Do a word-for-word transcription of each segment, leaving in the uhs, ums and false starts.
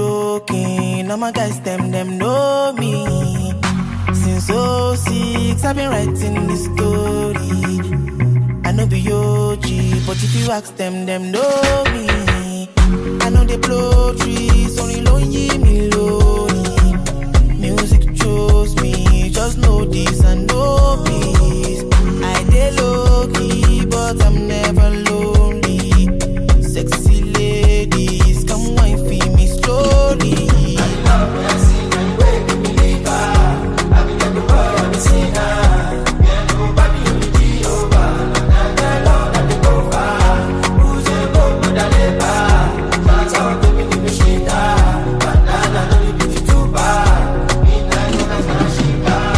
joking. All my guys, them, them know me. Since oh six, I've been writing this story. I know be O G, but if you ask them, them know me. I know they blow trees, only lonely me lonely. Music chose me, just know this and know peace. I dey low key, but I'm never lonely. Sexy ladies, come wine for me slowly. I love dancing and wake me live. I be like the boy I'm missing. Yeah, nobody only be over. And I love that they go far. Who's a go to the labor? That's how to be in the shit. But now I know you be too bad. Midnight, no, that's not a shit.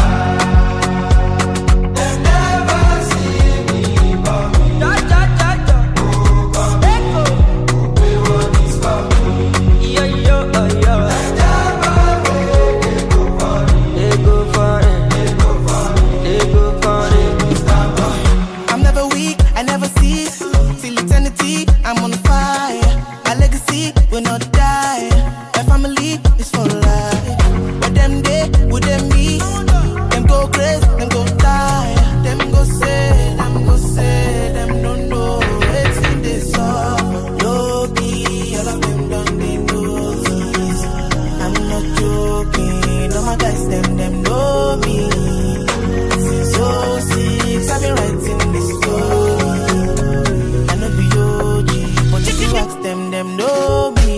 They never see me coming. Da, da, da, da. Who coming? Who pay what is coming? Yo, yo, oh, yo. They never wait, they go for it. They go for it. They go for it. They go for it. I'm never weak, I never cease. Till eternity, I'm on fire. My legacy will not die. My family is for life. But them day, with them me. Them go crazy, them go die. Them go say, them go say, them don't know. It's in this song. Low key, all of them done they notice. I'm not joking. All my guys, them, them know me. Since oh six, I've been writing this story. I know be O G, but if you ask them, them know me.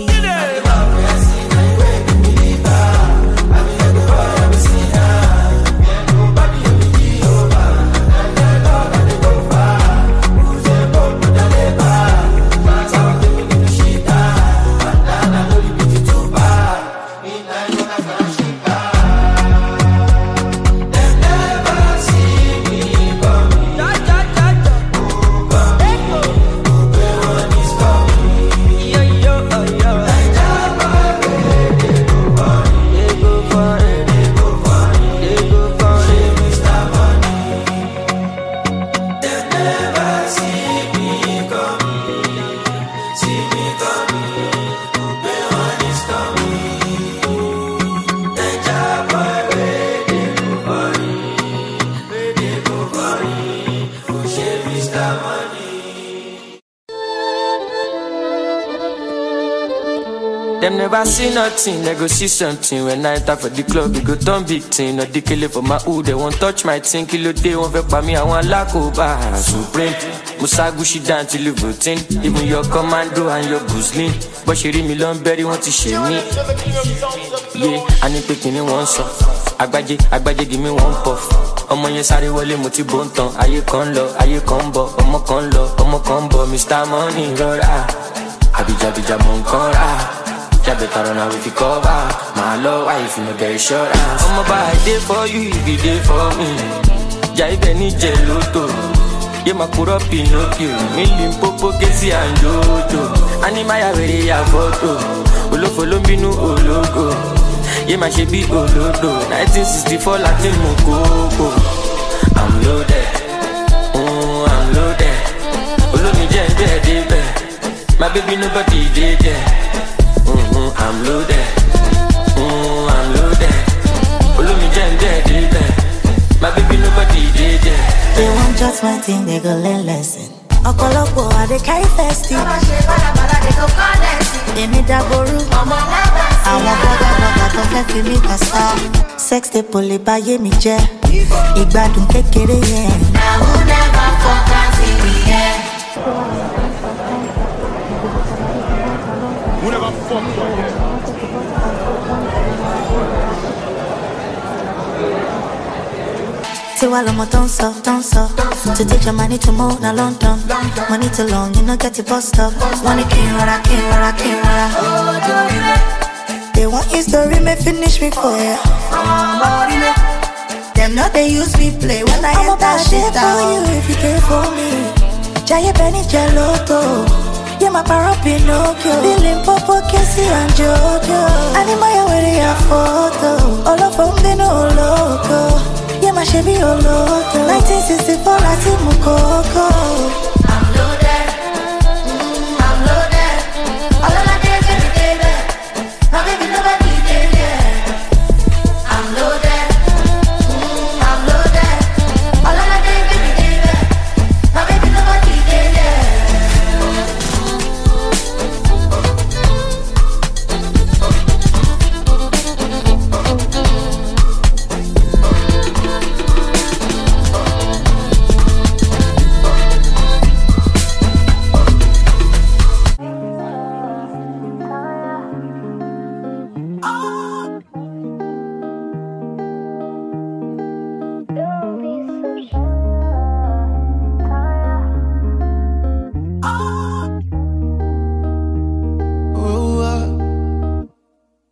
Them never see nothing, they go see something. When I enter for the club, we go turn big thing. No decay for my hood, they won't touch my thing. Kilo day, won't vex by me, I want lack over supreme. Musa Gucci down till you voting. Even your commando and your Guzlin. But she read me long berry, want to shame me. Yeah, I need picking in one song. Agbaje, Agbaje, give me one puff. Ọmọ yẹn sáré wọlé mo ti bó ń tan. Ayé kan lọ, ayé kan bọ̀. Ọmọ kan lọ, ọmọ kan bọ̀. Mister Money rọra. Abijabija mo ń kọ́ra. Ya better run away if you cover. My love, why if you no get insurance? I'm about a day for you, if you day for me. Jai Benny Geloto. Yeah, my put up Pinocchio. Million Popo, Kesi and Jojo. Animaya very ya photo. Olo follow me no ologo. Yeah, my shebi olodo. nineteen sixty-four Latin Mokoko. I'm loaded. Oh, I'm loaded. Olo mi jen de de. My baby nobody did there. Mm-hmm, I'm loaded. Mm, I'm loaded. Follow me, Jen, dead, dead. My baby, nobody did it. They want just my thing, they go learn lesson. Okolopo, I they carry festive. They need that boru. I want boga boga to fẹ́ fi mi kasa. Sex they pull it by me jẹ́. Ìgbádùn kékeré yẹn. Now who never focus in the air. Who never fuck for you? Say while I'm a dancer, dancer. To take your money to move na London. Money too long, you know get it bust up. Money king, rara, king, rara, king, rara. They want your story, may finish me for ya. Them know they use me play when I hit that shit out. For you if you care for me. Jaya Benny Geloto. Yeah, my para Pinocchio. Billing Popo, Kesi and Jojo. Animaya with your photo. All of them they know loco. Yeah, my Chevy Oloto. nineteen sixty-four Latin Mokoko. I'm loaded. Mm, I'm loaded. All of my days every day, babe. My baby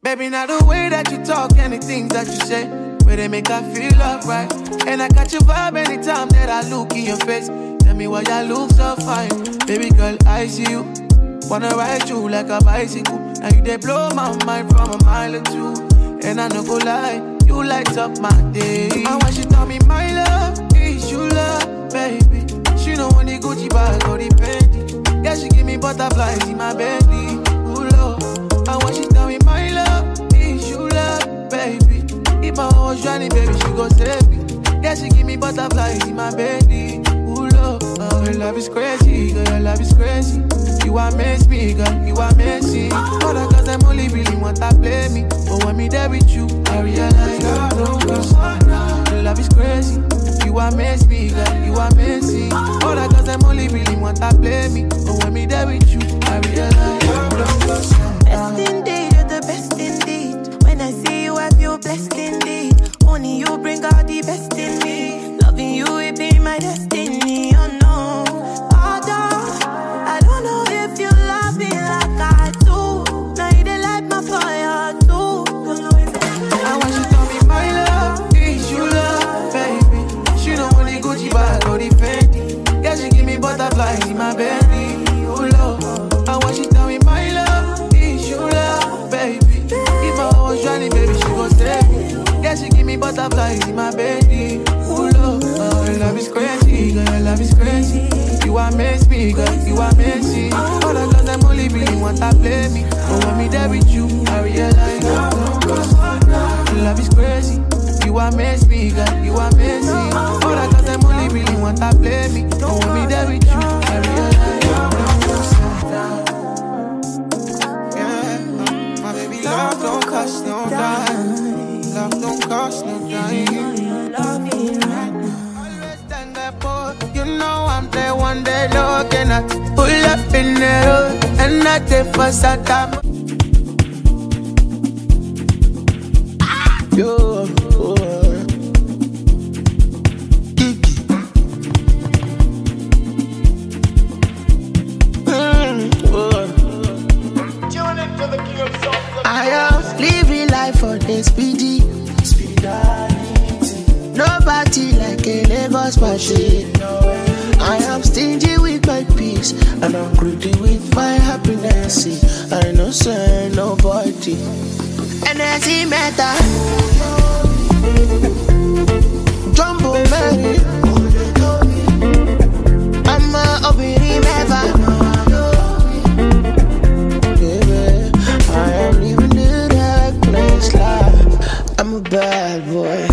Baby, now the way that you talk and the things that you say, where they make I feel alright. And I catch your vibe anytime that I look in your face. Tell me why you look so fine. Baby girl, I see you. Wanna ride you like a bicycle. Now you they blow my mind from a mile or two. And I no go lie, you light up my day. And when she tell me my love is you love, baby. She know when the Gucci bag or the Fendi. Yeah, she give me butterflies in my belly. Ooh, love. And when she tell me my love is you love, baby. If my horse running, baby, she go save me. Yeah, she give me butterflies in my belly. Ooh, love. Oh, your love is crazy, girl, your love is crazy. You amaze me, girl, you amaze me. All the girls, them only really want to play me. But when me there with you, I realize I don't go. Your love is crazy. You amaze me, girl, you amaze me. All the girls, them only really want to play me. But when me there with you, I realize I don't go. Best indeed, you're the best indeed. When I see you, I feel blessed indeed. Only you bring out the best in me. Loving you, it be my destiny. Oh no, although I don't know if you love me like I do. Now you dey light my fire too. I want you to tell me my love is you love, baby. She know when the Gucci bag or the Fendi. Yeah, she give me butterflies in my belly. Oh love, I want you to tell me my love is you love, baby. If I was running, baby, she go save me. Yeah, she give me butterflies in my belly. Ooh, love, oh, your love is crazy, girl, your love is crazy. You amaze me, girl, you amaze me. All the girls, them only really want to play me. But when me there with you, I realize oh, no, your love is crazy. You amaze me, girl, you amaze me. All the girls, them only really want to play me. But when me there with you, I realize oh, yeah, my baby, love don't cost no dime. Love don't cost no dime. Always stand there for you know I'm there one day looking at pull up in the road and not the first time. Yo, oh, Kiki. Mm, oh. Tune into the king of songs. I am living life for this P D. Nobody like a Lagos machine. I am stingy with my peace and I'm greedy with my happiness. I know say nobody. Energy matter. Jumbo Mary. I'm a obiri never. Baby, I am living the reckless life. I'm a bad boy.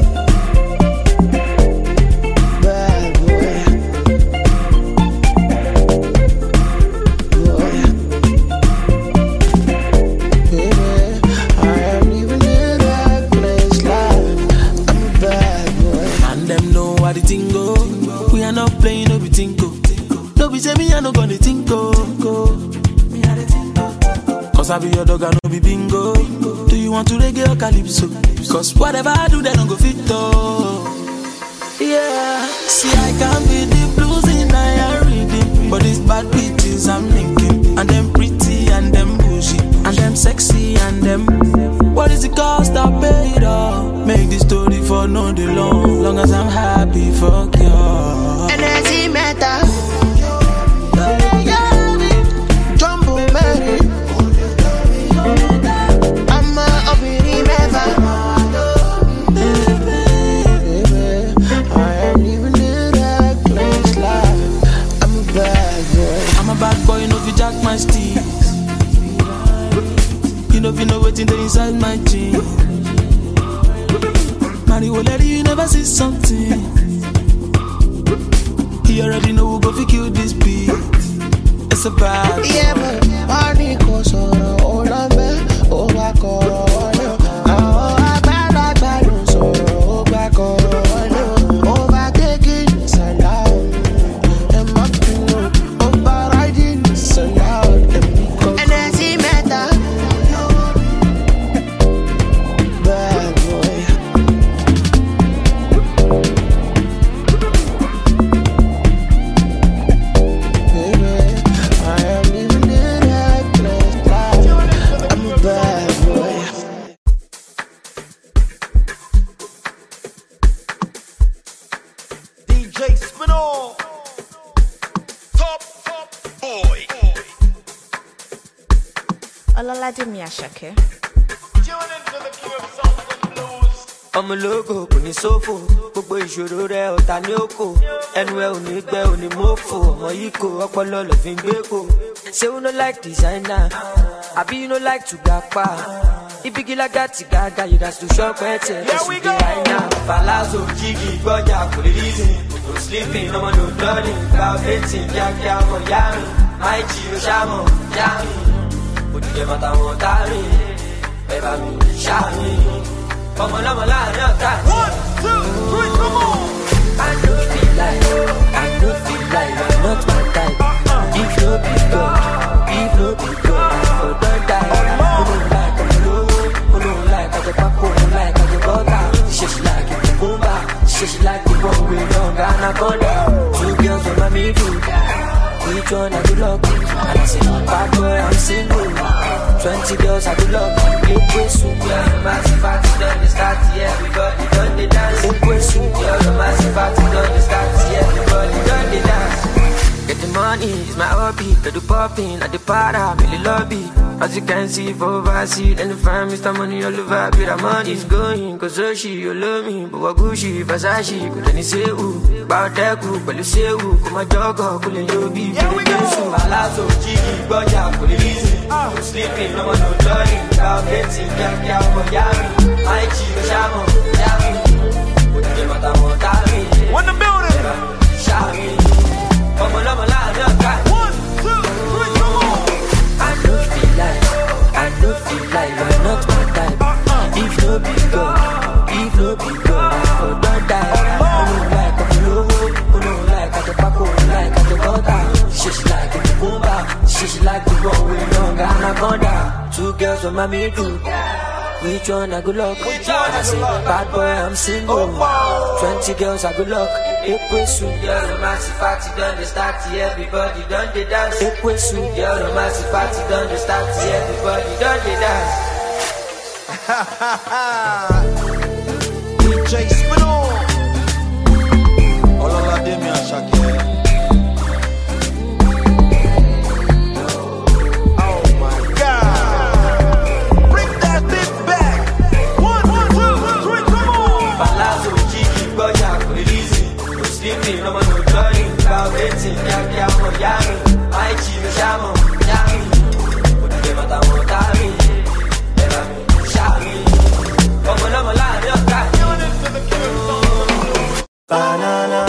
Cause I be your dog, I no be bingo. Do you want to reggae or calypso? Cause whatever I do, they don't go fit though. Yeah, see I can be the blues in I reading, but these bad bitches I'm linking. And them pretty and them bougie and them sexy and them. What is the cost I paid off? Make this story for no day long. Long as I'm happy, fuck you. Energy matter. My steez. You know if you know what's inside my jeans. Mario Lady, you never see something. He already know who go fi kill this beat. It's a bad boy. Yeah, but money goes on all of me. Oh, I call Olaladimi Ashake. ọmọ ológo kò ní sófò gbogbo ìṣòro rẹ ọ̀tá ní òkò ẹnu ẹ ò ní gbẹ ò ní mọ́fò ọmọ yìí kò ọpọlọ lọ fi ń gbé kò. say you no like designer àbí you no like to gapa ibigila gati gaga you gats to shop ẹtẹ ẹsùn dé àìná. palazzo jígì gbọ́jà kò lè rí sí no sleeping ọmọ no dọ́ọ̀lìn gba ọ̀fẹ́tì kíákíá ọmọ yá mi máì jí o ṣàmọ̀ yá mi òdìdẹ mọ́ta wọn tá mi ẹ bá mi ṣá mi. One, two, three, come on! I don't feel like, I don't feel like you're not my type. If no be God, if no be God, I don't die. Who don't like, I don't who don't like, I don't pack, who don't like, I don't butter. She she like it, the boomba. She she like the one with long anaconda. Two girls on my middle. Which one I do love? And I say, bad boy, I'm single. Twenty girls I do love. Eight way soup, yeah, the massive party done the start, yeah, everybody done the dance. Eight way soup, yeah, the massive party done the start, yeah, everybody done the dance. Get the money, it's my hobby. Get the popping at the para, really lobby. As you can see, for overseas, and the fam, Mister Money all over, but the money is going. Cause so she, you love me, but what Gucci, Versace, could any say who? About that group, but you say who? Come my dog, couldn't you be? Here we go. Palazzo, Jiggy, Boya, could it easy? No sleeping, no one, no learning. About getting, yeah, yeah, for Yami. My chief, Shamo, Yami. Put the matter on Tami. One the building. Shami. One, two, three, come on. I don't feel like, I don't feel like you're not my type. If no be God, if no be God, I don't die. Who don't like, I don't who don't like, I don't pack, who don't like, I don't butter. She she like it, the boomba. She she like the one with long anaconda. Two girls on my middle. Which one I good luck? Which one I say, bad boy, I'm single. Twenty girls I good luck. Eight way soup, yeah, the massive party done the start, yeah, everybody done the dance. Eight way soup, yeah, the massive party done the start, yeah, everybody done the dance. D J Spinall. Olaladimi Ashake. Sleeping, no man no joining. About eighteen, yeah, yeah, for Yami. My chief, Shamo, Yami. Put the matter on Tami. Never me, Shami. Come on, I'm alive, you're got banana.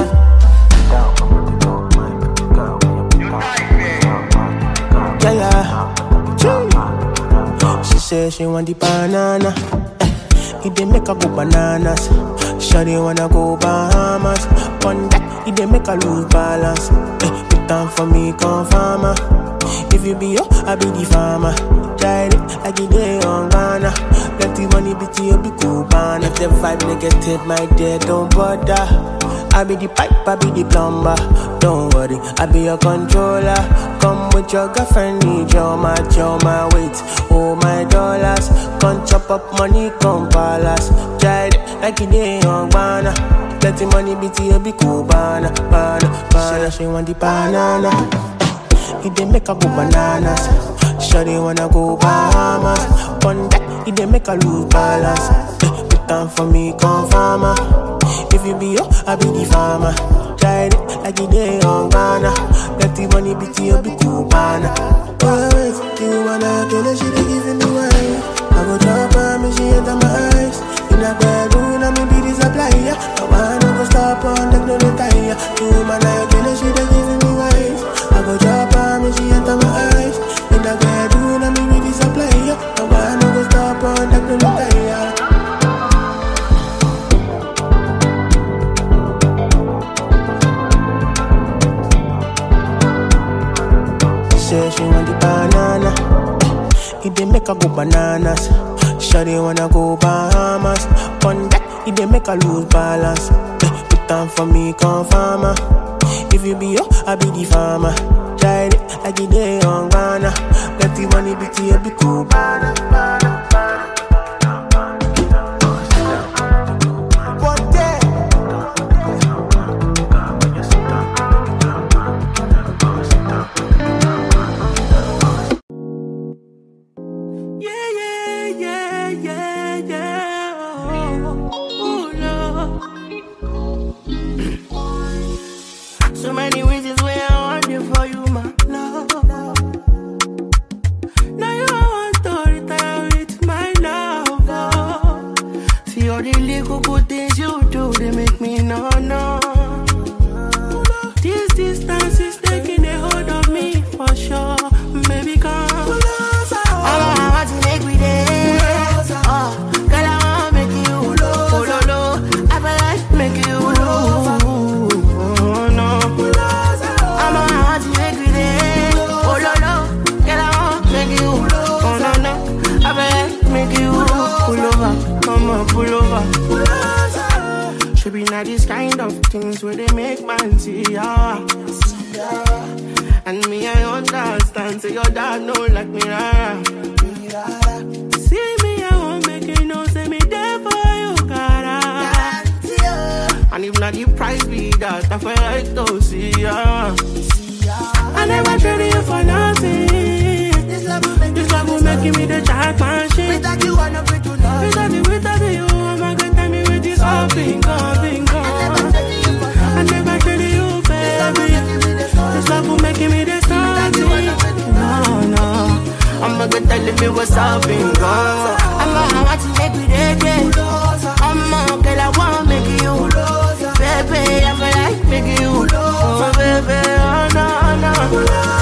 Yeah, yeah. She said she want the banana. It dey make her go bananas. Shawty wanna go Bahamas. On that, it dey make her lose balance. Eh, put down for me, come farmer. If you be yo, I be the farmer. Try it like it dey on Ghana. Let the money be to you, be cool, man. If the vibe negative, my dear, don't bother. I be the pipe, I be the plumber. Don't worry, I be your controller. Come with your girlfriend, need your match, your my weight, oh my dollars. Come chop up money, come palace. Try it like it dey on Ghana. Let the money be to you, be cool, banana, banana, banana. She want the banana. It dey make her go bananas. Shawty wanna go Bahamas. On that, it dey make her lose balance. Eh, put down for me, come farmer. If you be yo, I be the farmer. Try it like it dey on Ghana. Let the money be to you, be cool, banana. Oh, wait, you wanna kill her, she dey giving me wine. I go drop her, me she enter my eyes. In a bedroom, I me be the supplier. I wanna go stop on the no retire. You man, I kill her, she dey giving me wine. I go drop her, me she enter my eyes. In a bedroom, I me be the supplier. I wanna go stop on the no retire. Say she want the banana. It dey make her go bananas. Shawty wanna go Bahamas. On that, it dey make her lose balance. Eh, put down for me, come farmer. If you be yo, I be the farmer. Try it like it dey on Ghana. Let the money be to you, be cool, banana, banana. So many reasons why I want you for you, my love. Now you want to retire with my love. Oh. See all the little good things you do, they make me no, no. This distance is taking a hold of me for sure. Baby, come. I want to make me there. Oh, girl, I want to make you. Oh, no, no. I feel like make you. Oh, no. I want to make me there. Oh, no, no. Girl, I want to make you. Oh, no, no. I feel like make you. Pull over. Come on, pull over. Should be not these kind of things where they make man see ya. And me, I understand. Say your dad know like me, rara. See me, I won't make it no. Say me there for you, cara. And if not the price be that, I feel like to see ya. I never traded you for nothing. This love will make me the child machine. Without you, I'm not free to love. Without you, without you, I'm not gonna tell me with this all bingo, bingo. I never traded you, baby. This love will make me the starting. No, no. I'm not gonna tell me what's up and go. I'm gonna want to make me ready. I'm a girl, I wanna make you. Baby, I feel like making you. Oh, baby, oh, no, no.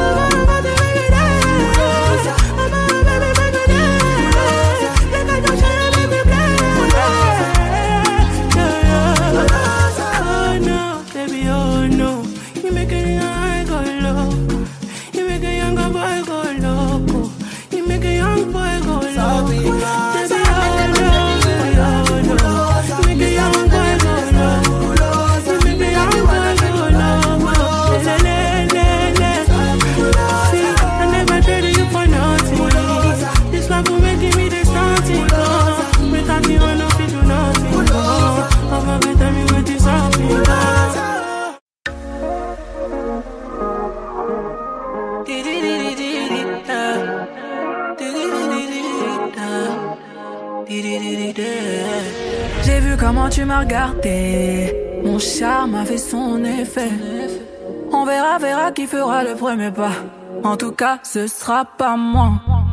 J'ai vu comment tu m'as regardé, mon charme a fait son effet. On verra, verra qui fera le premier pas. En tout cas, ce sera pas moi.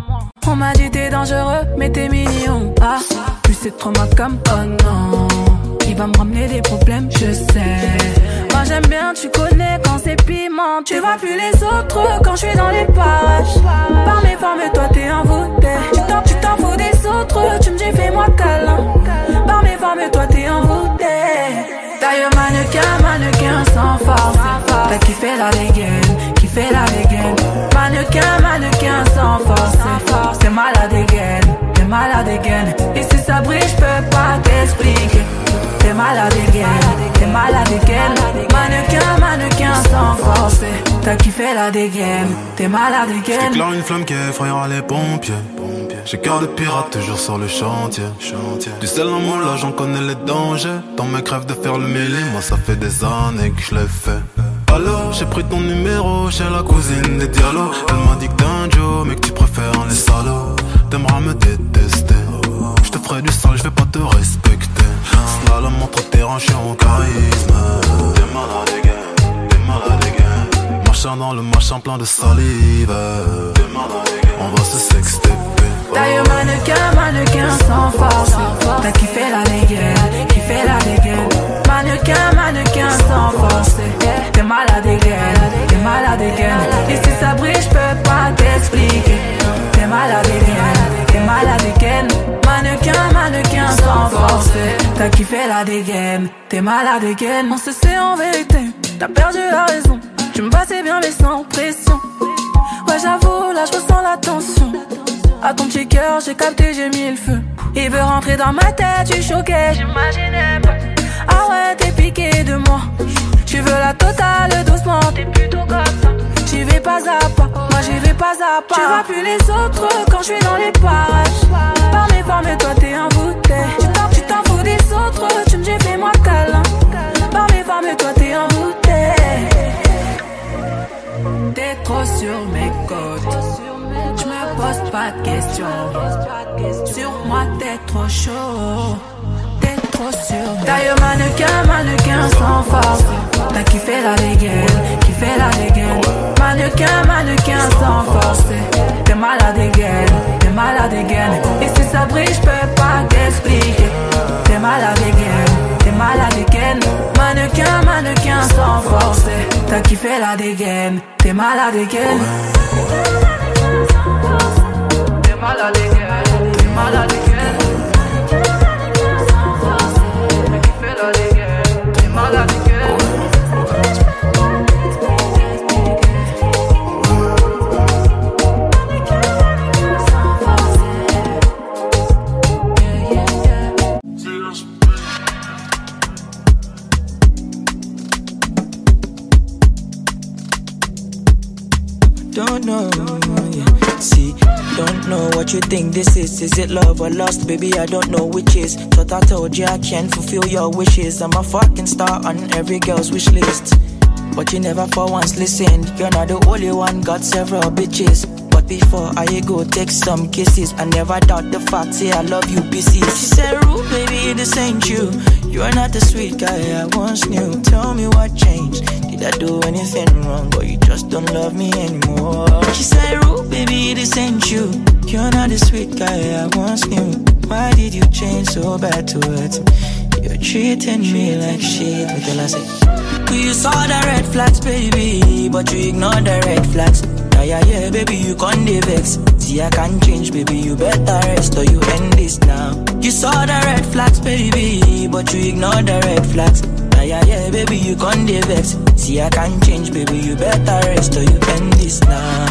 On m'a dit t'es dangereux, mais t'es mignon. Ah, plus c'est trop ma com, oh non. Il va me ramener des problèmes, je sais. Moi j'aime bien, tu connais quand c'est piment. Tu vois plus les autres quand je suis dans les parages. Par mes formes, toi t'es envoûté. Tu t'en, tu t'en fous des autres, tu me dis fais-moi câlin. Par mes formes, toi t'es envoûté. D'ailleurs mannequin, mannequin sans force. T'as kiffé la dégaine, kiffé la dégaine. Mannequin, mannequin sans force. T'es malade dégaine, t'es malade dégaine. Et si ça brille, j'peux pas t'expliquer. T'es malade dégaine, t'es malade dégaine. Mannequin, mannequin sans force. T'as kiffé la dégaine, t'es malade dégaine. J'éclaire une flamme qui effrayera les pompiers. J'ai cœur de pirate toujours sur le chantier. Du sel en moi là j'en connais les dangers. Dans mes crèves de faire le mêlé, moi ça fait des années que je l'ai fait. Alors j'ai pris ton numéro chez la cousine des Diallo. Elle m'a dit que t'es un Joe mais que tu préfères les salauds. T'aimeras me détester. Je te ferai du sale, je vais pas te respecter. Slalom entre tes hanches en charisme. T'es malade again, t'es malade again. Marchant dans le machin plein de salive. T'es malade again, on va se sexter. D'ailleurs mannequin, mannequin sans force. T'as kiffé la dégaine, kiffé la dégaine. Mannequin, mannequin sans force. T'es malade dégaine, t'es malade dégaine. Et si ça brille, j'peux pas t'expliquer. T'es malade dégaine, t'es malade dégaine. Mannequin, mannequin sans force. T'as kiffé la dégaine, t'es malade dégaine. On se sait en vérité, t'as perdu la raison. Tu me passais bien mais sans pression. Ouais j'avoue, là j'ressens la tension. À ton petit cœur, j'ai capté, j'ai mis le feu. Il veut rentrer dans ma tête, tu choquais, j'imaginais pas. Ah ouais, t'es piqué de moi. Tu veux la totale, doucement, t'es plutôt comme ça. J'y vais pas à pas, moi j'y vais pas à pas. Tu vois plus les autres quand je suis dans les parages. Par mes formes, toi t'es envoûté. Tu t'en, tu t'en fous des autres, tu me dis fais-moi câlin. Par mes formes, toi t'es envoûté. T'es trop sur mes côtes. J'me pose pas de questions. Sur moi t'es trop chaud. T'es trop sur. D'ailleurs, mannequin, mannequin sans force. T'as kiffé la dégaine, kiffé la dégaine. Mannequin, mannequin sans force. T'es malade dégaine, t'es malade dégaine. Et si ça brille, j'peux pas t'expliquer. T'es malade dégaine, t'es malade dégaine. Mannequin, mannequin sans force. T'as kiffé la dégaine, t'es malade dégaine. T'es malade dégaine, t'es malade dégaine. Don't know, yeah. See, don't know what you think this is. Is it love or lust? Baby, I don't know which is. Thought I told you I can't fulfill your wishes. I'm a fucking star on every girl's wish list. But you never for once listened. You're not the only one, got several bitches. But before I go take some kisses, I never doubt the fact, say I love you, B C. She said, Rude, baby, this ain't you. You're not the sweet guy I once knew. Tell me what changed. Did I do anything wrong, or you just don't love me anymore? She said, Rude, baby, this ain't you. You're not the sweet guy I once knew. Why did you change so bad towards me? You're treating me like shit. Me tell her, say, you saw the red flags, baby, but you ignored the red flags. Yeah, yeah, yeah, baby, you can't vex. See, I can't change, baby, you better rest or you end this now. You saw the red flags, baby, but you ignored the red flags. Yeah, yeah, yeah, baby, you can't vex. See, I can't change, baby, you better rest or you end this now.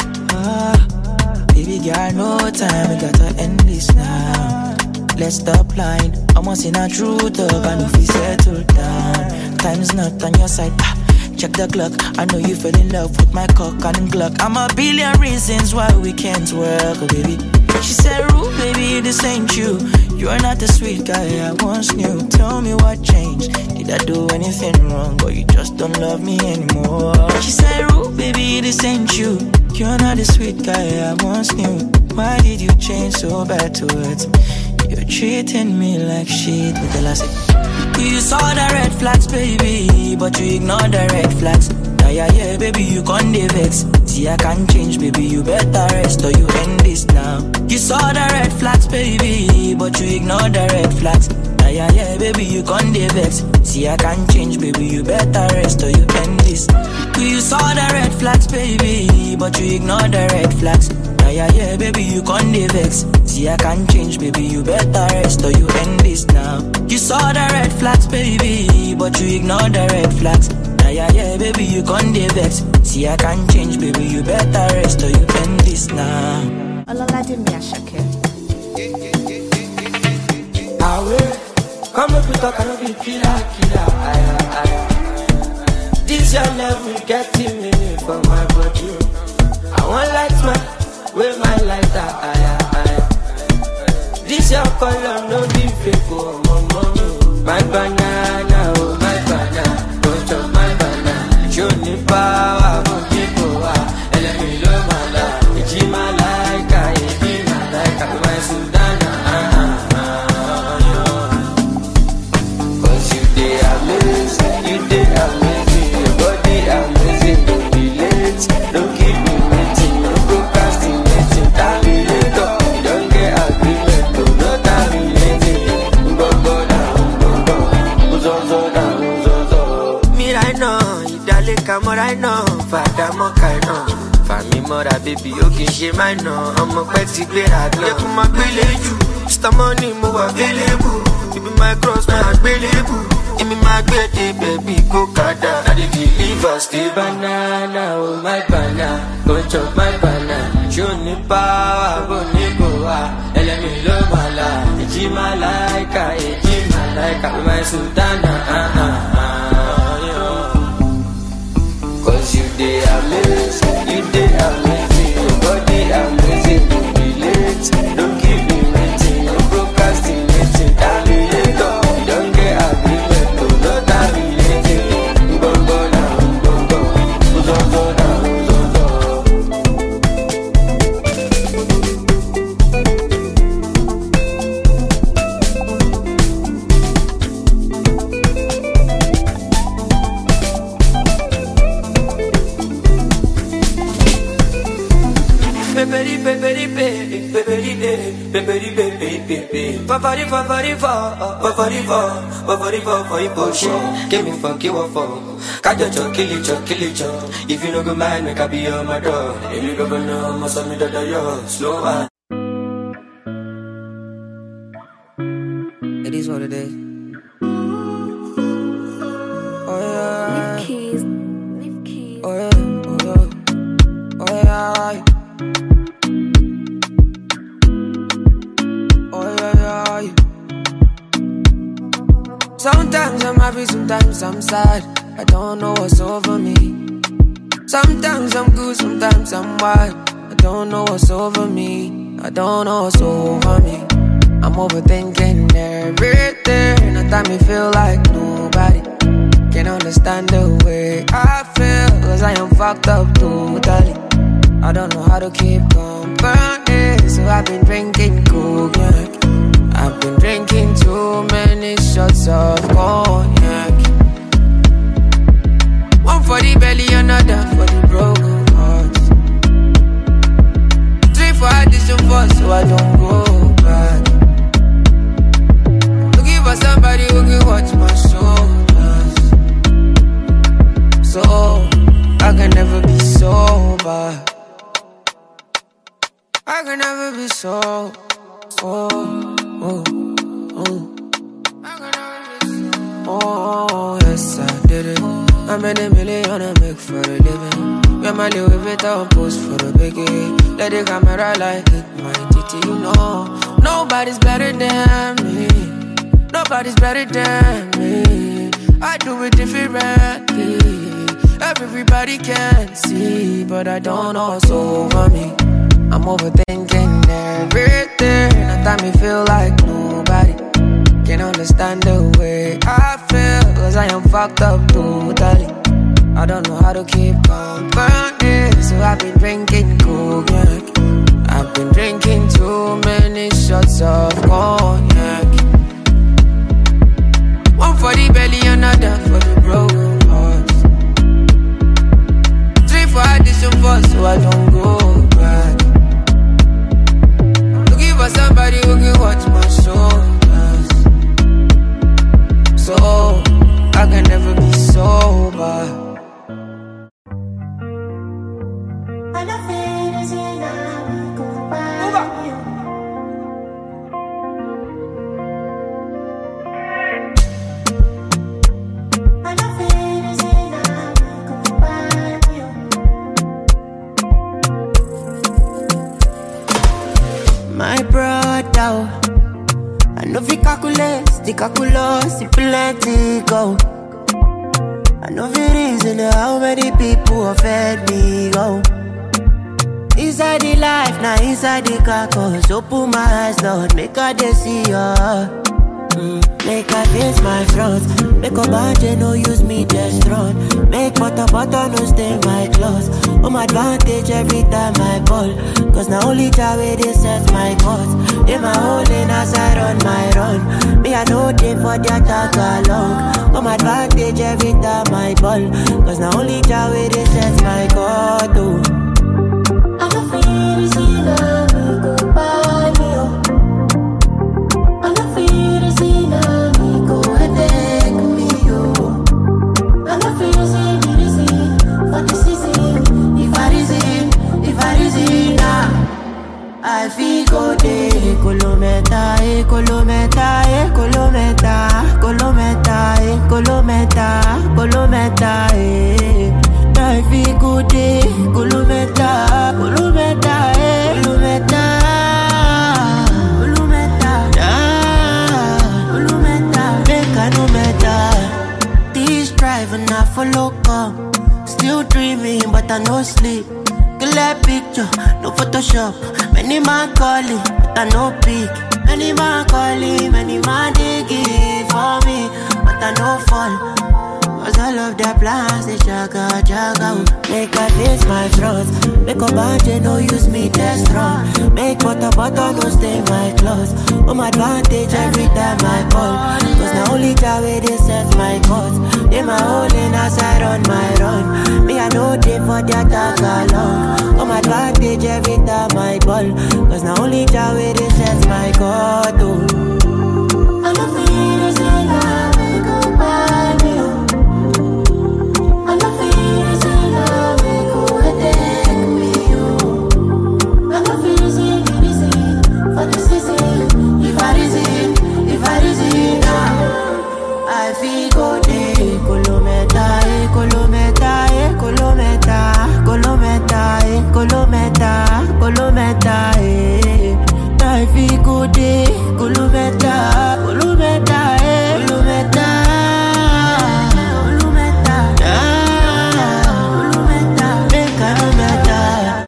Ah, baby, girl, no time, we gotta end this now. Let's stop lying, I'm once in a true talk, I know if we settle down. Time's not on your side, ah. Check the clock, I know you fell in love with my cock and Glock. I'm a billion reasons why we can't work, oh baby. She said, Rude, baby, this ain't you. You're not the sweet guy I once knew. Tell me what changed. Did I do anything wrong, or you just don't love me anymore? She said, Rude, baby, this ain't you. You're not the sweet guy I once knew. Why did you change so bad towards me? You're treating me like shit. Me tell her, say, you saw the red flags, baby, but you ignored the red flags. Yeah, yeah, yeah, baby, you can't vex. See, I can't change, baby, you better rest or you end this now. You saw the red flags, baby, but you ignored the red flags. Yeah, yeah, yeah, baby, you can't vex. See, I can't change, baby, you better rest or you end this. You saw the red flags, baby, but you ignored the red flags. Yeah, yeah, yeah, baby, you can't vex. See, I can't change, baby, you better rest or you end this now. You saw the red flags, baby, but you ignored the red flags. Yeah, yeah, yeah, baby, you can't vex. See, I can't change, baby, you better rest or you end this now. Ololade mi Asake. Awe, come up with a kind of killer, killer, aya, aya. This your level getting me for my body. I want light my, with my lighter, aya, aya. This your color, no be fake, oh, mama. My banana, oh, my banana. Don't chop my banana. Show me power, oh, people, ah. Let me love my life. It's my like, I, it's my like, I, my Sudana, ah, ah, ah, yeah. Cause you dey amazing, you dey amazing. Your body amazing, don't be late. Don't keep me waiting, no procrastinating. Time me later, you don't get agreement, no, no time me later. Go, go down, go, go. Uzo, zo, down, uzo, zo. Me right now, idale kamo right now. Fada mo kai now. Fami mora baby, o kin ṣe my now. Ọmọ pẹ́ ti gbéra gan. Yẹ kó máa gbélé jù. Mister Money mo wà available. Ibi my cross my available. Imi my gbede baby go kada. I dey deliver stay banana, oh my banana. Go chop my banana. Show me power, go ni go ah. Elemi lo mala, eji malaika, eji malaika, my sultana. Ah ah ah, yeah. Cause you dey amazing, you dey amazing. Your body amazing, don't be late, don't keep me waiting, no procrastinating. Time me later, you don't get agreement, no, no time me later. Go go down, go go, go go down, go go. baby, baby, baby. Favori, favori, favori, favori, favori, favori. Give me fuck you up for. Kajo cho, kill it, cho, kill it, cho. If you no go mind, make I be on my door. If you go know, must have me that yo. Slow one. It is what it is. Oh yeah. Leave keys. Leave keys. Oh yeah. Oh yeah. Oh yeah. Oh yeah. Yeah. Sometimes I'm happy, sometimes I'm sad. I don't know what's over me. Sometimes I'm good, sometimes I'm wild. I don't know what's over me. I don't know what's over me. I'm overthinking everything. I time me feel like nobody can understand the way I feel, cause I am fucked up totally. I don't know how to keep company, so I've been drinking cognac. I've been drinking too many shots of cognac. One for the belly, another for the broken hearts. Three for addition four, so I don't go back. Looking for somebody who can watch my shoulders, so I can never be sober. I can never be so, so, oh, oh. Oh, yes, I did it. I made a million I make for a living. Wear my Louis Vuitton post for the biggie. Let the camera like hit my titty, you know. Nobody's better than me. Nobody's better than me. I do it differently. Everybody can see, but I don't know what's over me. I'm overthinking everything. I time me feel like nobody can understand the way I feel, cause I am fucked up totally. I don't know how to keep company, so I've been drinking cognac. I've been drinking too many shots of cognac. One for the belly, another for the broken hearts. Three for addition four, so I don't go back. Looking for somebody who can watch my shoulders, so I can never be sober. My brother, I know fi calculate, the calculus, the plenty go. I know fi reason how many people offend me go. Inside the life, now inside the carcass. Open my eyes, Lord, make I dey see ya. Mm, make I face my front. Make a budget, no use me just run. Make butter, butter, no stain my clothes. Home advantage every time I ball, cause now only Jah way they set my cause. In my hole in as I run my run. Me I know they for the attack along. Home advantage every time I ball, cause now only Jah way they set my cause. Oh. I don't feel easy now, me go buy me oh. I don't feel easy now, me go headache me oh. I don't feel easy, easy for the season. If I reason, if I reason now, I feel go day. Colometa, eh, colometa, eh, colometa, colometa, eh, colometa, colometa, eh. I feel good day, colometa, colometa, eh, colometa, colometa, ah, colometa, make a no matter. This driving I follow come, still dreaming but I no sleep. Clear picture, no Photoshop. Many man calling, but I no pick. Many man calling, many man digging for me, but I no fall. Cause all of their plans, they jaga, jaga. Make I face my front. Make a budget, no use me test run. Make butter, butter, no stain my clothes. Home advantage every time I ball, cause now only Jah where they set my course. They my holding as I run my run. Me I know they for their talk along. On my advantage every time I ball. Cause now only Jah where they set my course. Oh. I love it as I love it, go by me. I love it as I love it, go attack me. I love it as I love it, for the season. If I reason, if I reason now, I feel go day. Colometa, eh, colometa, eh, colometa, colometa, eh, colometa, colometa, eh. I feel go day. Colometa, colometa, eh, colometa, colometa, ah, colometa, eh, colometa.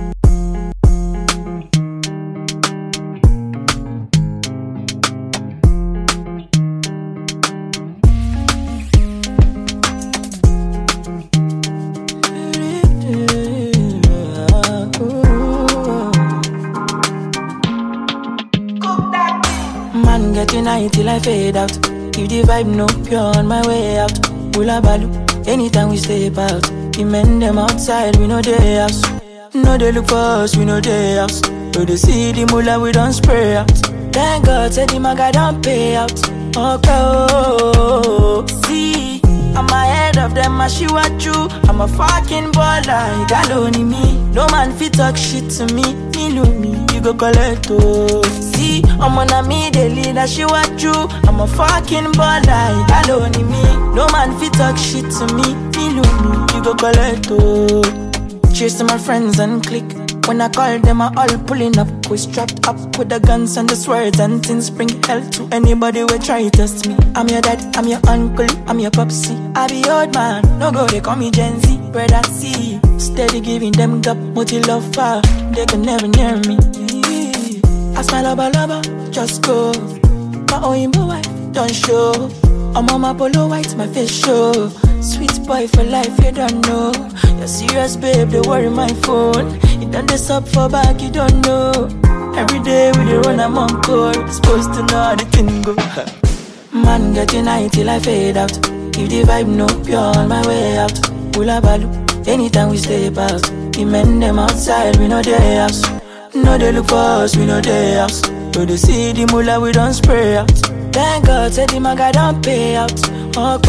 Getting high till I fade out. If the vibe no pure on my way out. Hula balu, anytime we step out. The men them outside, we know they house. No they look for us, we know they house. So they see the mullah, we don't spray out. Thank God, said the maga don't pay out. Okay, oh, see, I'm ahead of them, I see what you. I'm a fucking baller, you got only me. No man fit talk shit to me, me know me, you go collect, oh. See, I'm on a me, they lead, I see what you. I'm a fucking baller, you got only me. No man fit talk shit to me, me know me, you go collect, oh. Cheers to my friends and click. When I call them, I all pulling up. We strapped up with the guns and the swords and things. Bring hell to anybody who try to test me. I'm your dad, I'm your uncle, I'm your popsy. I be old man, no go, they call me Gen Z. Brother C, steady giving them gap, multi love far. They can never near me. Ask my lover, lover, just go. My own boy, don't show. I'm on my polo white, my face show. Sweet boy for life, you don't know. You're serious, babe, they worry my phone. You done this up for back, you don't know. Every day we dey run, I'm on call. Supposed to know how the thing go. Man, getting high till I fade out. If the vibe no pure on my way out. Hula balu, anytime we step out. The men them outside, we know they house. No they look for us, we know they house. So they see the mullah, we don't spray out. Thank God, said the maga don't pay out. Okay,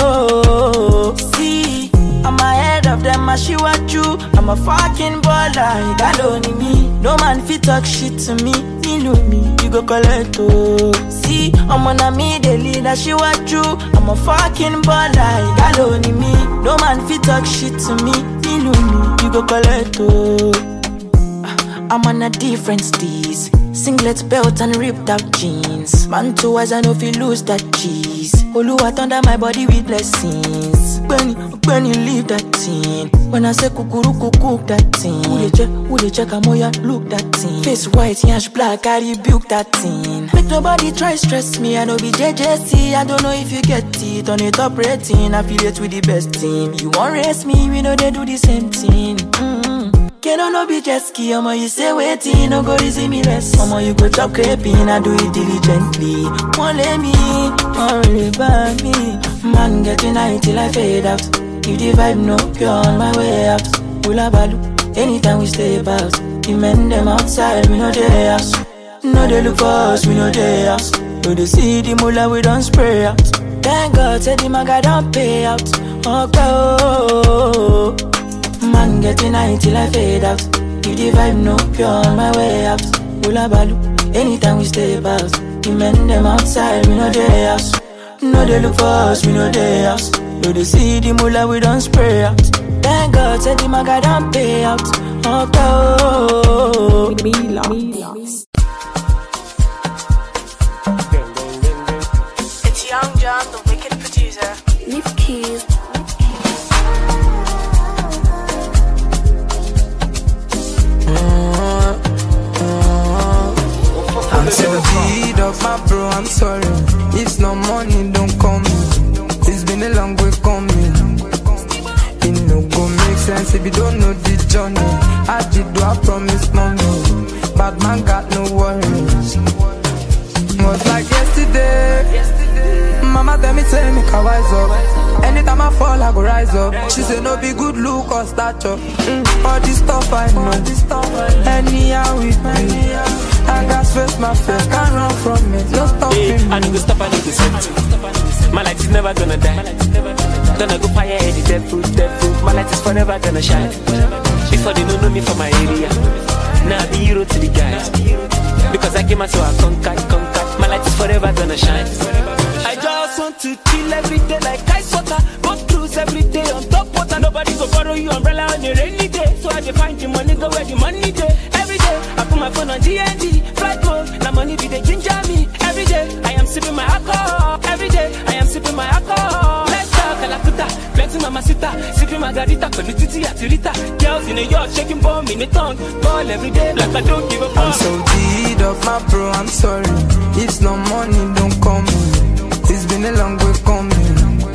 oh, see, I'm ahead of them, I see what you. I'm a fucking baller, you got only me. No man fit talk shit to me, me know me, you go collect, oh. See, I'm on a me, they lead, I see what you. I'm a fucking baller, you got only me. No man fit talk shit to me, me know me, you go collect, oh. I'm on a different steez. Singlet belt and ripped out jeans. Man two eyes, I know if you lose that cheese. Oluwa thunder my body with blessings. When you, when you leave that thing. When I say kukuruku cook that thing. Who they check, who they check, I'm ya look that thing. Face white, yash black, I rebuke that thing. Make nobody try stress me, I know be J J C. I don't know if you get it, on the top rating. Affiliate with the best team. You won't race me, we know they do the same thing. Mm-hmm. Can I no be jet ski, I'ma you say waiting, no go easy me less. I'ma you go chop creping, I do it diligently. Won't let me, won't live by me. Man getting high till I fade out. If the vibe no pure on my way out. Hula balu, anytime we step out. The men them outside, we know they house. No they look for us, we know they house. So they see the mullah, we don't spray out. Thank God, said the maga don't pay out. Okay, oh. Man getting high till I fade out. If the vibe no pure on my way out. Hula balu, anytime we step out. The men them outside, we know they house. No they look for us, we know they house. So they see the mullah, we don't spray out. Thank God, said the maga don't pay out. Okay, oh. It's Young John, the wicked producer. Leave keys. I'm seventy of my bro, I'm sorry. If no money, don't call me. It's been a long way coming. It no go make sense if you don't know the journey. I did do I promise mommy. Bad man got no worries. Was like yesterday. mama tell me, tell me, can wise up. Anytime I fall, I go rise up. She say no be good look or stature. Mm, all this stuff I know. Anyhow with me, I got face my fear, can't run from it. No stopping me. I need to stop, I need to set. My light is never gonna die. Gonna go fire any dead fruit, dead fruit. My light is forever gonna shine. Before they don't know me from my area, now I be hero to the guys. Because I came out so I conquer, conquer. My light is forever gonna shine. I just want to chill every day like ice water. Go cruise every day on top water. Nobody go borrow you umbrella on a rainy day. So I dey find the money, go where the money day. Every day I put my phone on D and D, flight mode. Now money be the ginger me. Every day I am sipping my alcohol. Every day I am sipping my alcohol. Let's talk Calacuta, plenty mamacita, sipping margarita, colutiti atirita. Girls in a yacht shaking bomb in the tongue. Ball every day like I don't give a fuck. I'm so deed of my bro, I'm sorry. It's no money, don't call me. It's been a long way coming.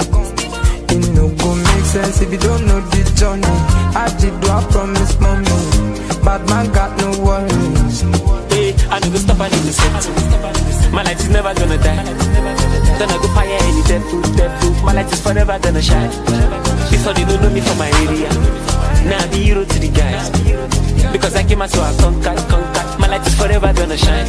It no go make sense if you don't know the journey. I did do, I promise, mommy. Bad man got no worries. Hey, I need to stop, I need to set. My light is never gonna die. Gonna go fire any dead fruit, dead fruit. My light is forever gonna shine. Before they don't know me from my area, now I be hero to the guys. Because I came out so I conquer, conquer. My light is forever gonna shine.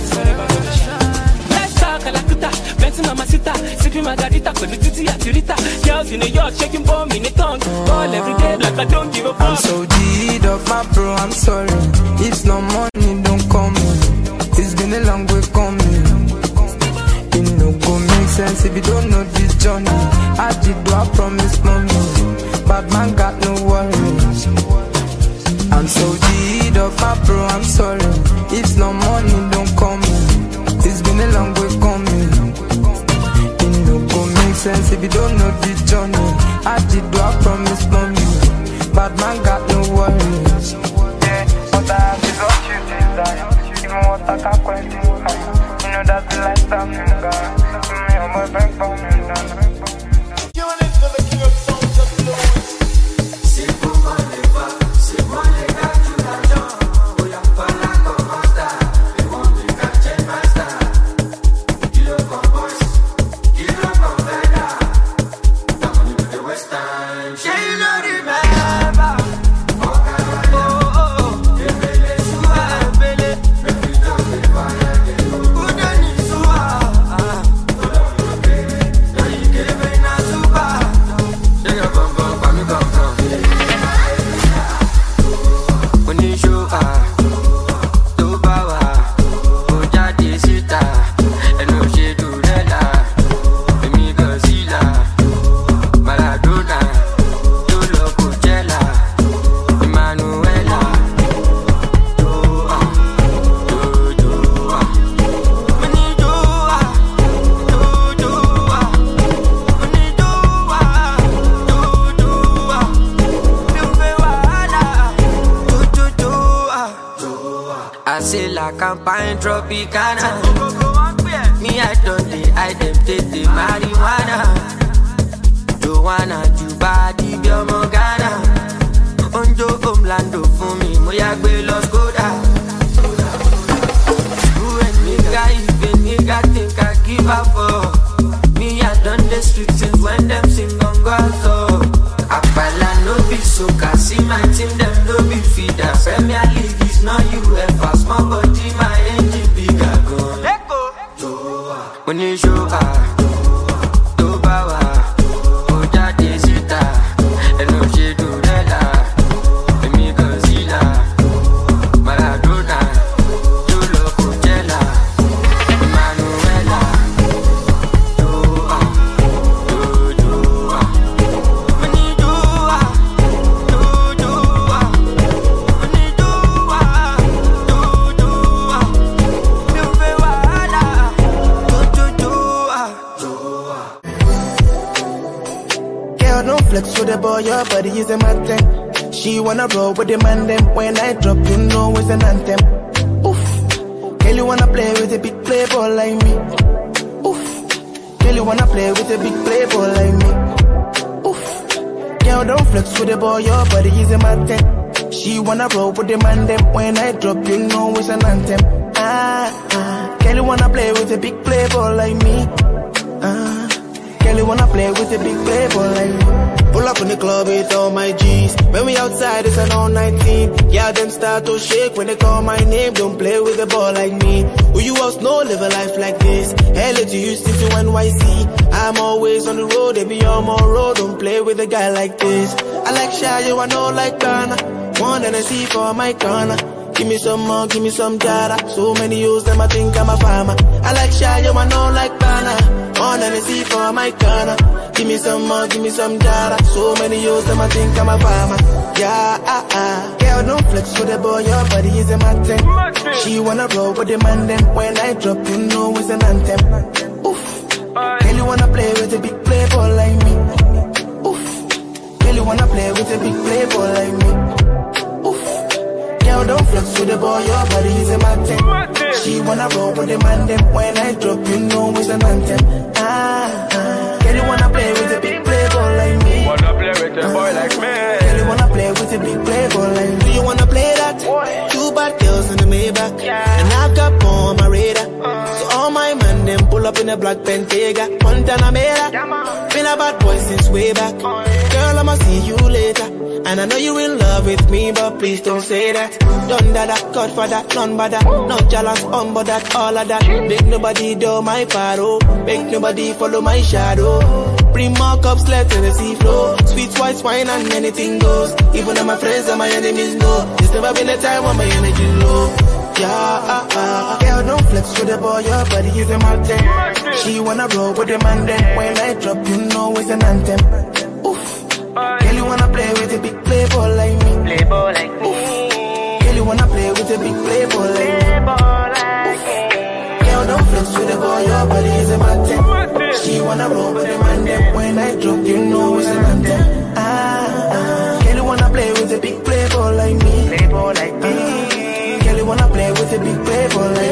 Let's talk Calacuta, plenty mamacita, sipping margarita, colutiti atirita. Girls in a yacht shaking bomb in the tongue. Ball every day like I don't give a fuck. I'm so deed of my bro, I'm sorry. It's no money, don't call me. It's been a long way coming. It no go make sense if you don't know this journey. I did do, I promise, mommy. Bad man got no worries. I'm so deed of my bro, I'm sorry. It's no money, don't call me. It's been a long way coming. It no go make sense if you don't know this journey. I did do, I promise, mommy. Bad man got no worries. Yeah, but I have is what you desire. Even what I can't quite do. You know that's the lifestyle, nigga. Me on my backbone, nigga. You want it to the king of songs of blues. C'est pour moi les pas, c'est moi les gars du l'argent. Oh y'a pas la commasta, les mondes du quartier master. Kilo Convoys, Kilo Conveda. The money to the west end. Yeah, you know remember. Oh, oh, oh. Ebele suwa, ebele. Refugio, fire, Udani suwa. Yari kebe na suba. Yeah, yeah, bum, bum, bum, bum, bum. Oníṣó, ah, tó bá wà, ó jáde síta. Ẹnu ò ṣe dùrẹ́là, èmi Godzilla. Maradona, tó lọ Coachella. Emmanuela, tó, ah, tó, tó, ah. Mo ní tó, ah, tó, tó, ah. Mo ní tó, ah, tó, tó, ah. Mi ò fẹ́ wàhálà, tó, tó, tó, ah. I say la campagne Tropicana. Me I don't dey, I dem take the marijuana. Joanna, Juba, di bí ọmọ Ghana. Onjo Omlando fún mi, mo yá gbé lọ Skoda. Who and nigga, if a nigga think I give up for. Me I done the street since when them sing on Gazo. Apala no be soca, see my team them no be feeder. Premier League is not UEFA, small body my engine bigger gun. Oníṣó, ah, tó bá wà, ó jáde síta. Ẹnu ò ṣe dùrẹ́là, èmi Godzilla. Maradona, tó lọ Coachella. Emmanuela, tó, ah, tó, tó, ah. Mo ní tó, ah, tó, tó, ah. Mo ní tó, ah, tó, tó, ah. Mi ò fẹ́ wàhálà, tó, tó, tó, ah. Girl, don't flex with the boy, your body is a matter. She wanna roll with the man, them. When I drop, you know it's an anthem. Oof. Girl, you wanna play with a big playboy like me. Oof. Girl, you wanna play with a big playboy like me. Oof. Girl, don't flex with the boy, your body is a matter. She wanna roll with the man, them. When I drop, you know it's an anthem. Ah, ah. Girl, you wanna play with a big playboy like me. Ah. Girl, you wanna play with a big playboy like me. Pull up in the club with all my G's. When we outside, it's an all night team. Yeah, them start to shake when they call my name. Don't play with a ball like me. Who you else know live a life like this? L A to Houston to N Y C. I'm always on the road, they be on my road. Don't play with a guy like this. I like shy, you I know like Ghana. One and I see for my corner. Give me some more, give me some data. So many use them, I think I'm a farmer. I like shy, you I know like Ghana. One and I see for my corner. Give me some more, give me some data. So many use them, I think I'm a farmer. Yeah, ah, ah. Girl, don't flex with the boy, your body is a matter. She wanna roll with the man, then when I drop, you know it's an anthem. Oof. Girl, you wanna play with a big playboy like me. Oof. Girl, you wanna play with a big playboy like me. Oof. Girl, don't flex with the boy, your body is a matter. She wanna roll with the man, then when I drop, you know it's an anthem. Ah, ah. Girl, you wanna play with a big playboy like me. Wanna play with a boy like me. Girl, you wanna play with a big playboy like me. Do you wanna play that? Two bad girls in the Maybach, and I've got more on my radar. So all my men, them pull up in a black Bentayga, Montana Mera. Been a bad boy since way back. Girl, I'ma see you later. And I know you in love with me, but please don't say that. Done that, Godfather, none but that. Not jealous, on but that, all of that. Make nobody do my paro. Make nobody follow my shadow. Bring more cups, let the sea flow. Sweet white wine and anything goes. Even though my friends and my enemies know. There's never been a time when my energy low. Yeah, ah, ah. Girl, don't flex with the boy, your body is a mountain. She wanna roll with the man, then when I drop, you know it's an anthem. Oof. Girl, you wanna play with a big playboy like me. Playboy like me. Girl, you wanna play with a big playboy like me. Girl, don't flex with the boy, your body is a mountain. She wanna roll with the man, then when I drop, you know it's an anthem. Ah, ah. Girl, you wanna play with a big playboy like me. Playboy like me. Girl, you wanna play with a big playboy like me.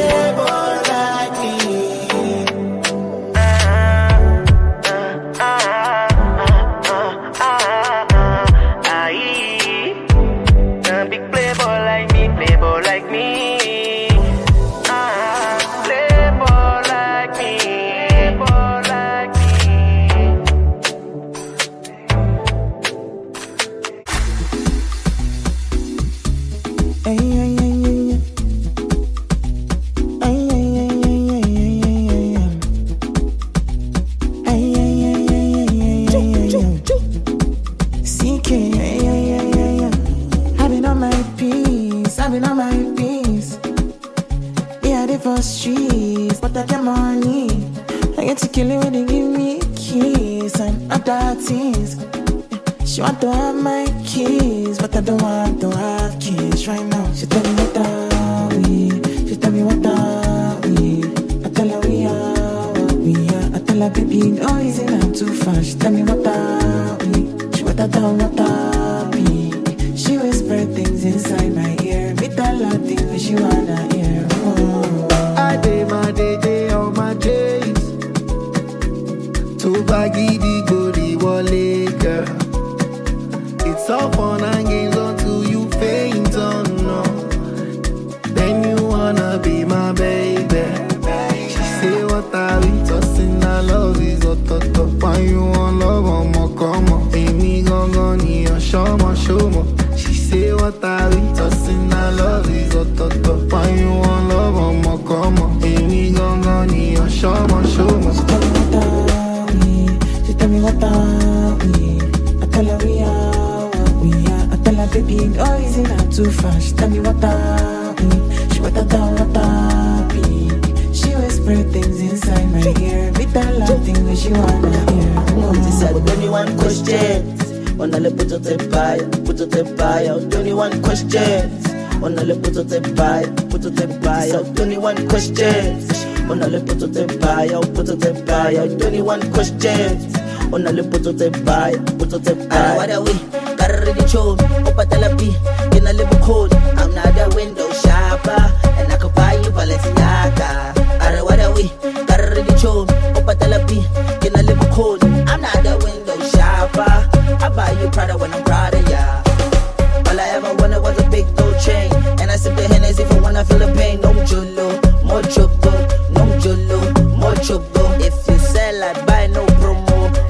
twenty-one questions. On a le poto te buy, poto te buy. What are we? Got ready to Opa Talapi, in a little cold. I'm not a window shopper, and I could buy you Balenciaga. Are what are we? Got ready to Opa Talapi, in a little cold. I'm not a window shopper. I buy you Prada when I'm proud of ya. All I ever wanted was a big gold chain, and I sip the Hennessy for when I feel the pain. No jolo, more choco, no jolo, more choco. If you sell, I buy no promo.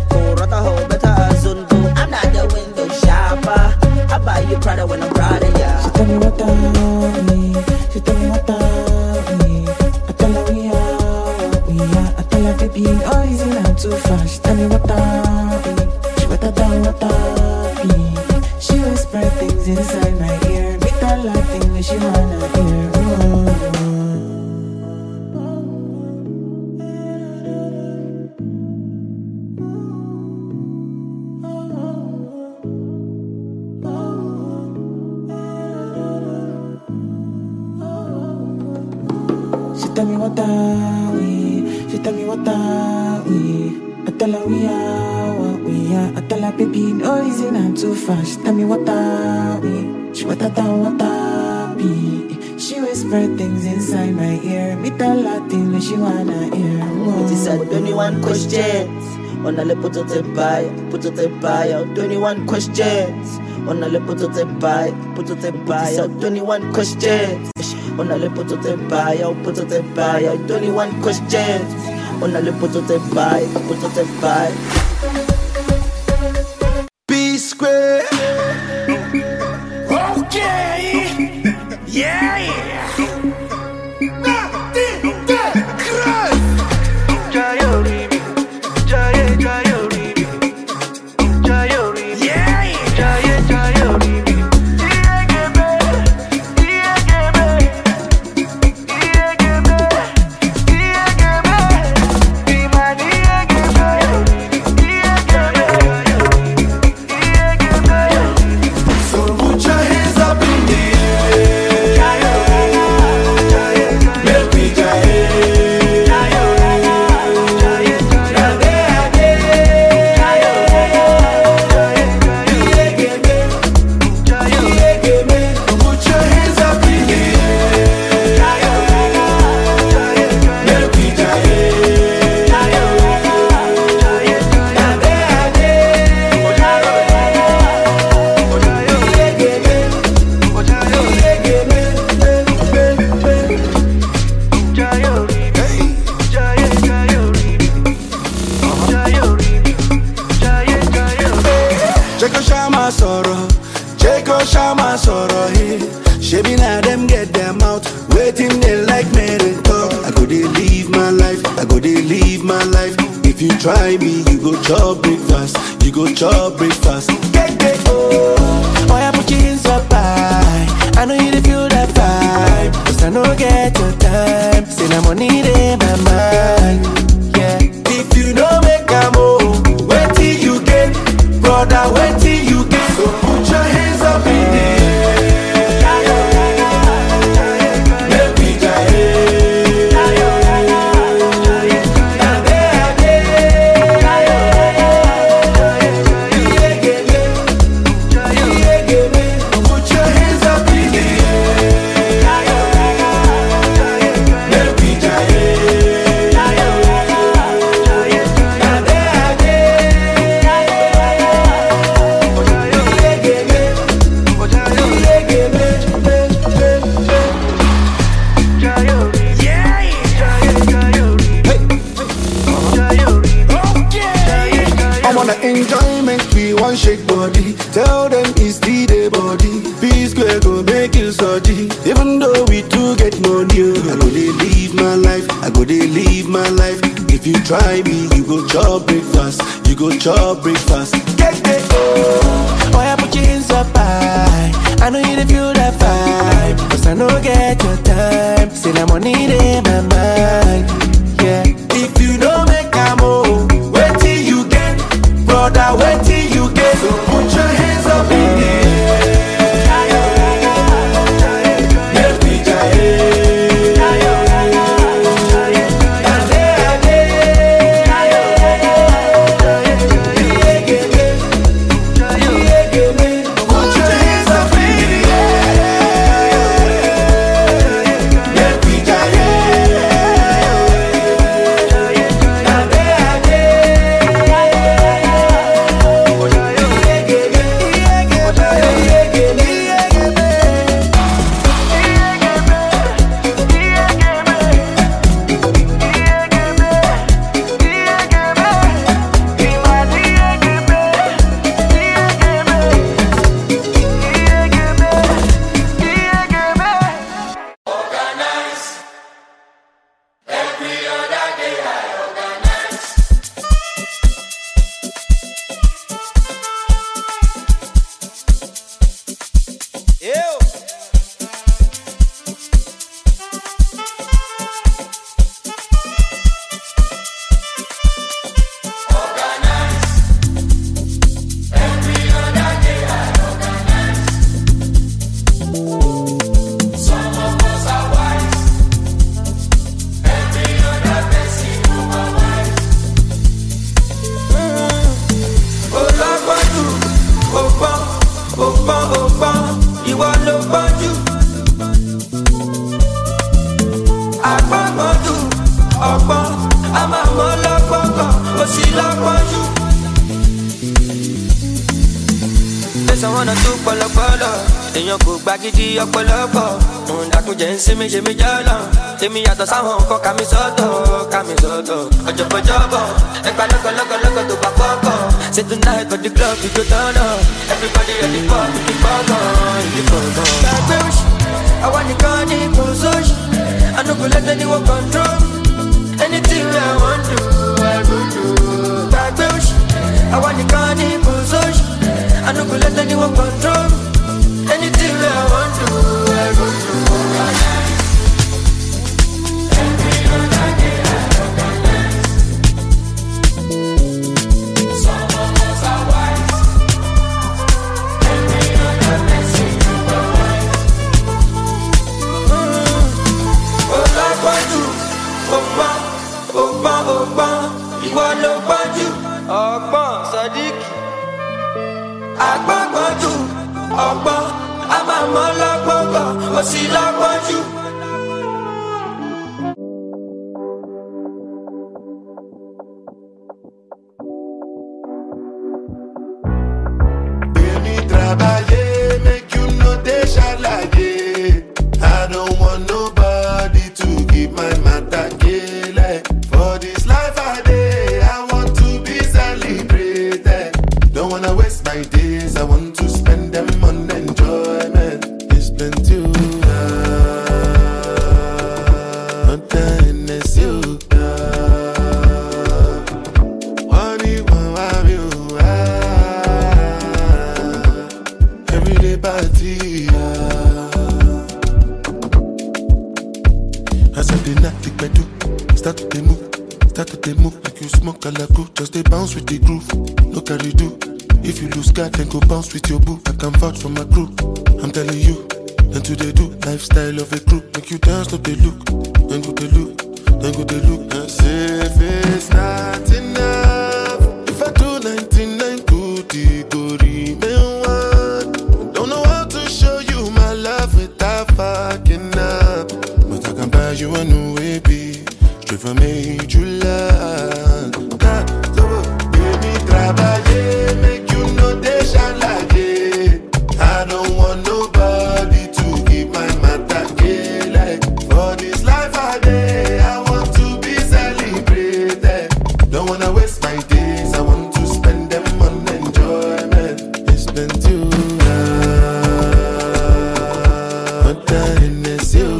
yeah. I tell her, baby, oh, easy now, too fast. Tell me what I be, what I done, what I be. She whisper things inside my ear. Me tell her things that she wanna hear. Oh. Tell me what are we? She tell me what are we? I tell her we are what we are. I tell her baby, no easy not too fast. Tell me what are we? She what I down what I be. She whisper things inside my ear. Me tell her things that she wanna hear. It is at twenty-one questions. On a le put te buy, put te buy out twenty-one questions. On a le put te buy, put te buy out twenty-one questions. On a le put te buy out, put te buy out twenty-one questions. On a le put te buy, put te buy. B square. Okay. Yeah, yeah. Try me, you go chop breakfast, you go chop breakfast. Get get oh, boy I put you in so high. I know you feel that vibe, cause I know get your time. Say na money in my mind, yeah. If you don't make a move, wait till you get, brother, wait till you get. So put your hands up in the air. Shake body, tell them it's the day body. P square go make you surgery. Even though we do get money, I go they live my life. I go they live my life. If you try me, you go chop breakfast. You go chop breakfast. Get get oh, boy I put you in so high. I know you feel that vibe, cause I know get your time. Say na money in my mind, yeah. If you don't make a move, wait till you get, brother, wait till you get. So put your hands up in the air. Let me sí lọ́pọ̀jù. Tẹ̀sán wọn náà tún pọ̀lọpọ̀lọ. Èèyàn kò gba gidi ọ̀pọ̀lọpọ̀. Òun dàkúnjẹ́ ń sinmi ṣe mí jọ́lọ̀. Èmi yàtọ̀ sáwọn nǹkan ká mi sọ́tọ̀, ká mi sọ́tọ̀. Ọ̀jọ̀bọ̀jọ̀bọ̀, ẹgbà lọ́kọ̀lọ́kọ̀lọ́kọ̀ tó bá kọ́kọ̀. Say tonight for the club we go turn up. Everybody ready for the bugger, the bugger. Gbàgbé òṣì, àwa nìkan ní kò sóṣì. I no go let anyone control me. Anything I want to, I go do. Gbàgbé òṣì, àwa nìkan ní kò sóṣì. I no go let anyone control me. Anything I want to, I go do. Every other day I recognize. Some of us are wise. Every other blessing you provide. Olapaju, Opa, Opa, Opa, ìwọ ló pọ̀jù. Ọgbọ́n Sadiq. Agbọ́gbọ́jù, ọgbọ́n, a máa mọ́ lọ́gbọ́gbọ́, ó sì lọ́gbọ́jù. Baby, trabalhei, make you no deixa larguer. I don't want nobody to give my matter kele. For this life I dey, I want to be celebrated. Don't wanna waste my days, I want to spend them on enjoyment. It's plenty of not kindness, you. Money, one of you. Everyday party. As I did not think I do, start to they move, start to they move like you smoke a la crew. Just they bounce with the groove, no carry do. If you lose God, then go bounce with your boo. I can vouch for my crew, I'm telling you. And to they do, lifestyle of a crew. Make you dance, no they look, then go they look, then go they look. And say if it's not enough, if I do ninety-nine good, it go remain one. Don't know how to show you my love without fucking up. But I can buy you a new A B, straight from major land. God, so baby, trabalhei, make you no deixa larguer. I don't want nobody to give my matter kele. For this life I dey, I want to be celebrated. Don't wanna waste my days, I want to spend them on enjoyment. It's been too long, but then it's you.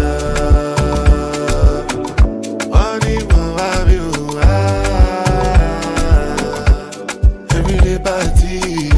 Only one of you. Everyday party.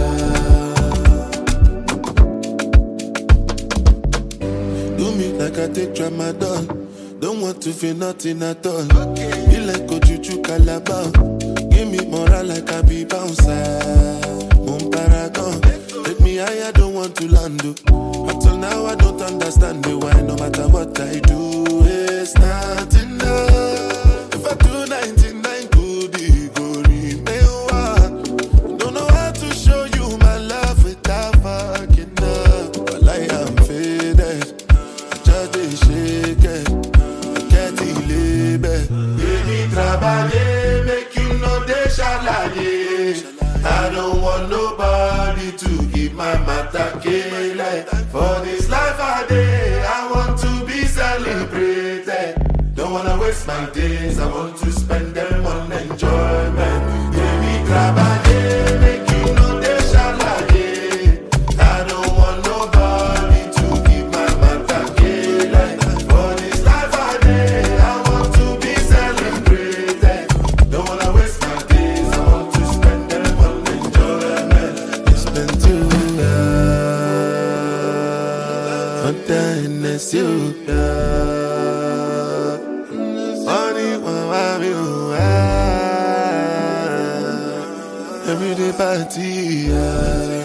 Do me like I take tramadol. Don't want to feel nothing at all. Be like Ojuju Calabar. Give me moral like I be bouncer. Moon paragon. Take me higher, don't want to land. Up till now I don't understand the why. No matter what I do, it's not enough. If I do ninety-nine good, it go remain one. Don't know how to show you my love without fucking up. But like I'm faded, I just dey shake it. I can't label. Baby, trabalhei, make you no deixa larguer. I don't want nobody to give my matter kele. For this life I dey, I want to be celebrated. Don't wanna waste my days, I want to spend them on enjoyment. Baby, trabalhei, make you no deixa larguer. I don't want nobody to give my matter kele. For this life I dey, I want to be celebrated. Don't wanna waste my days, I want to spend them on enjoyment. It's been too long, but then it's you. Only one of you. Everyday party.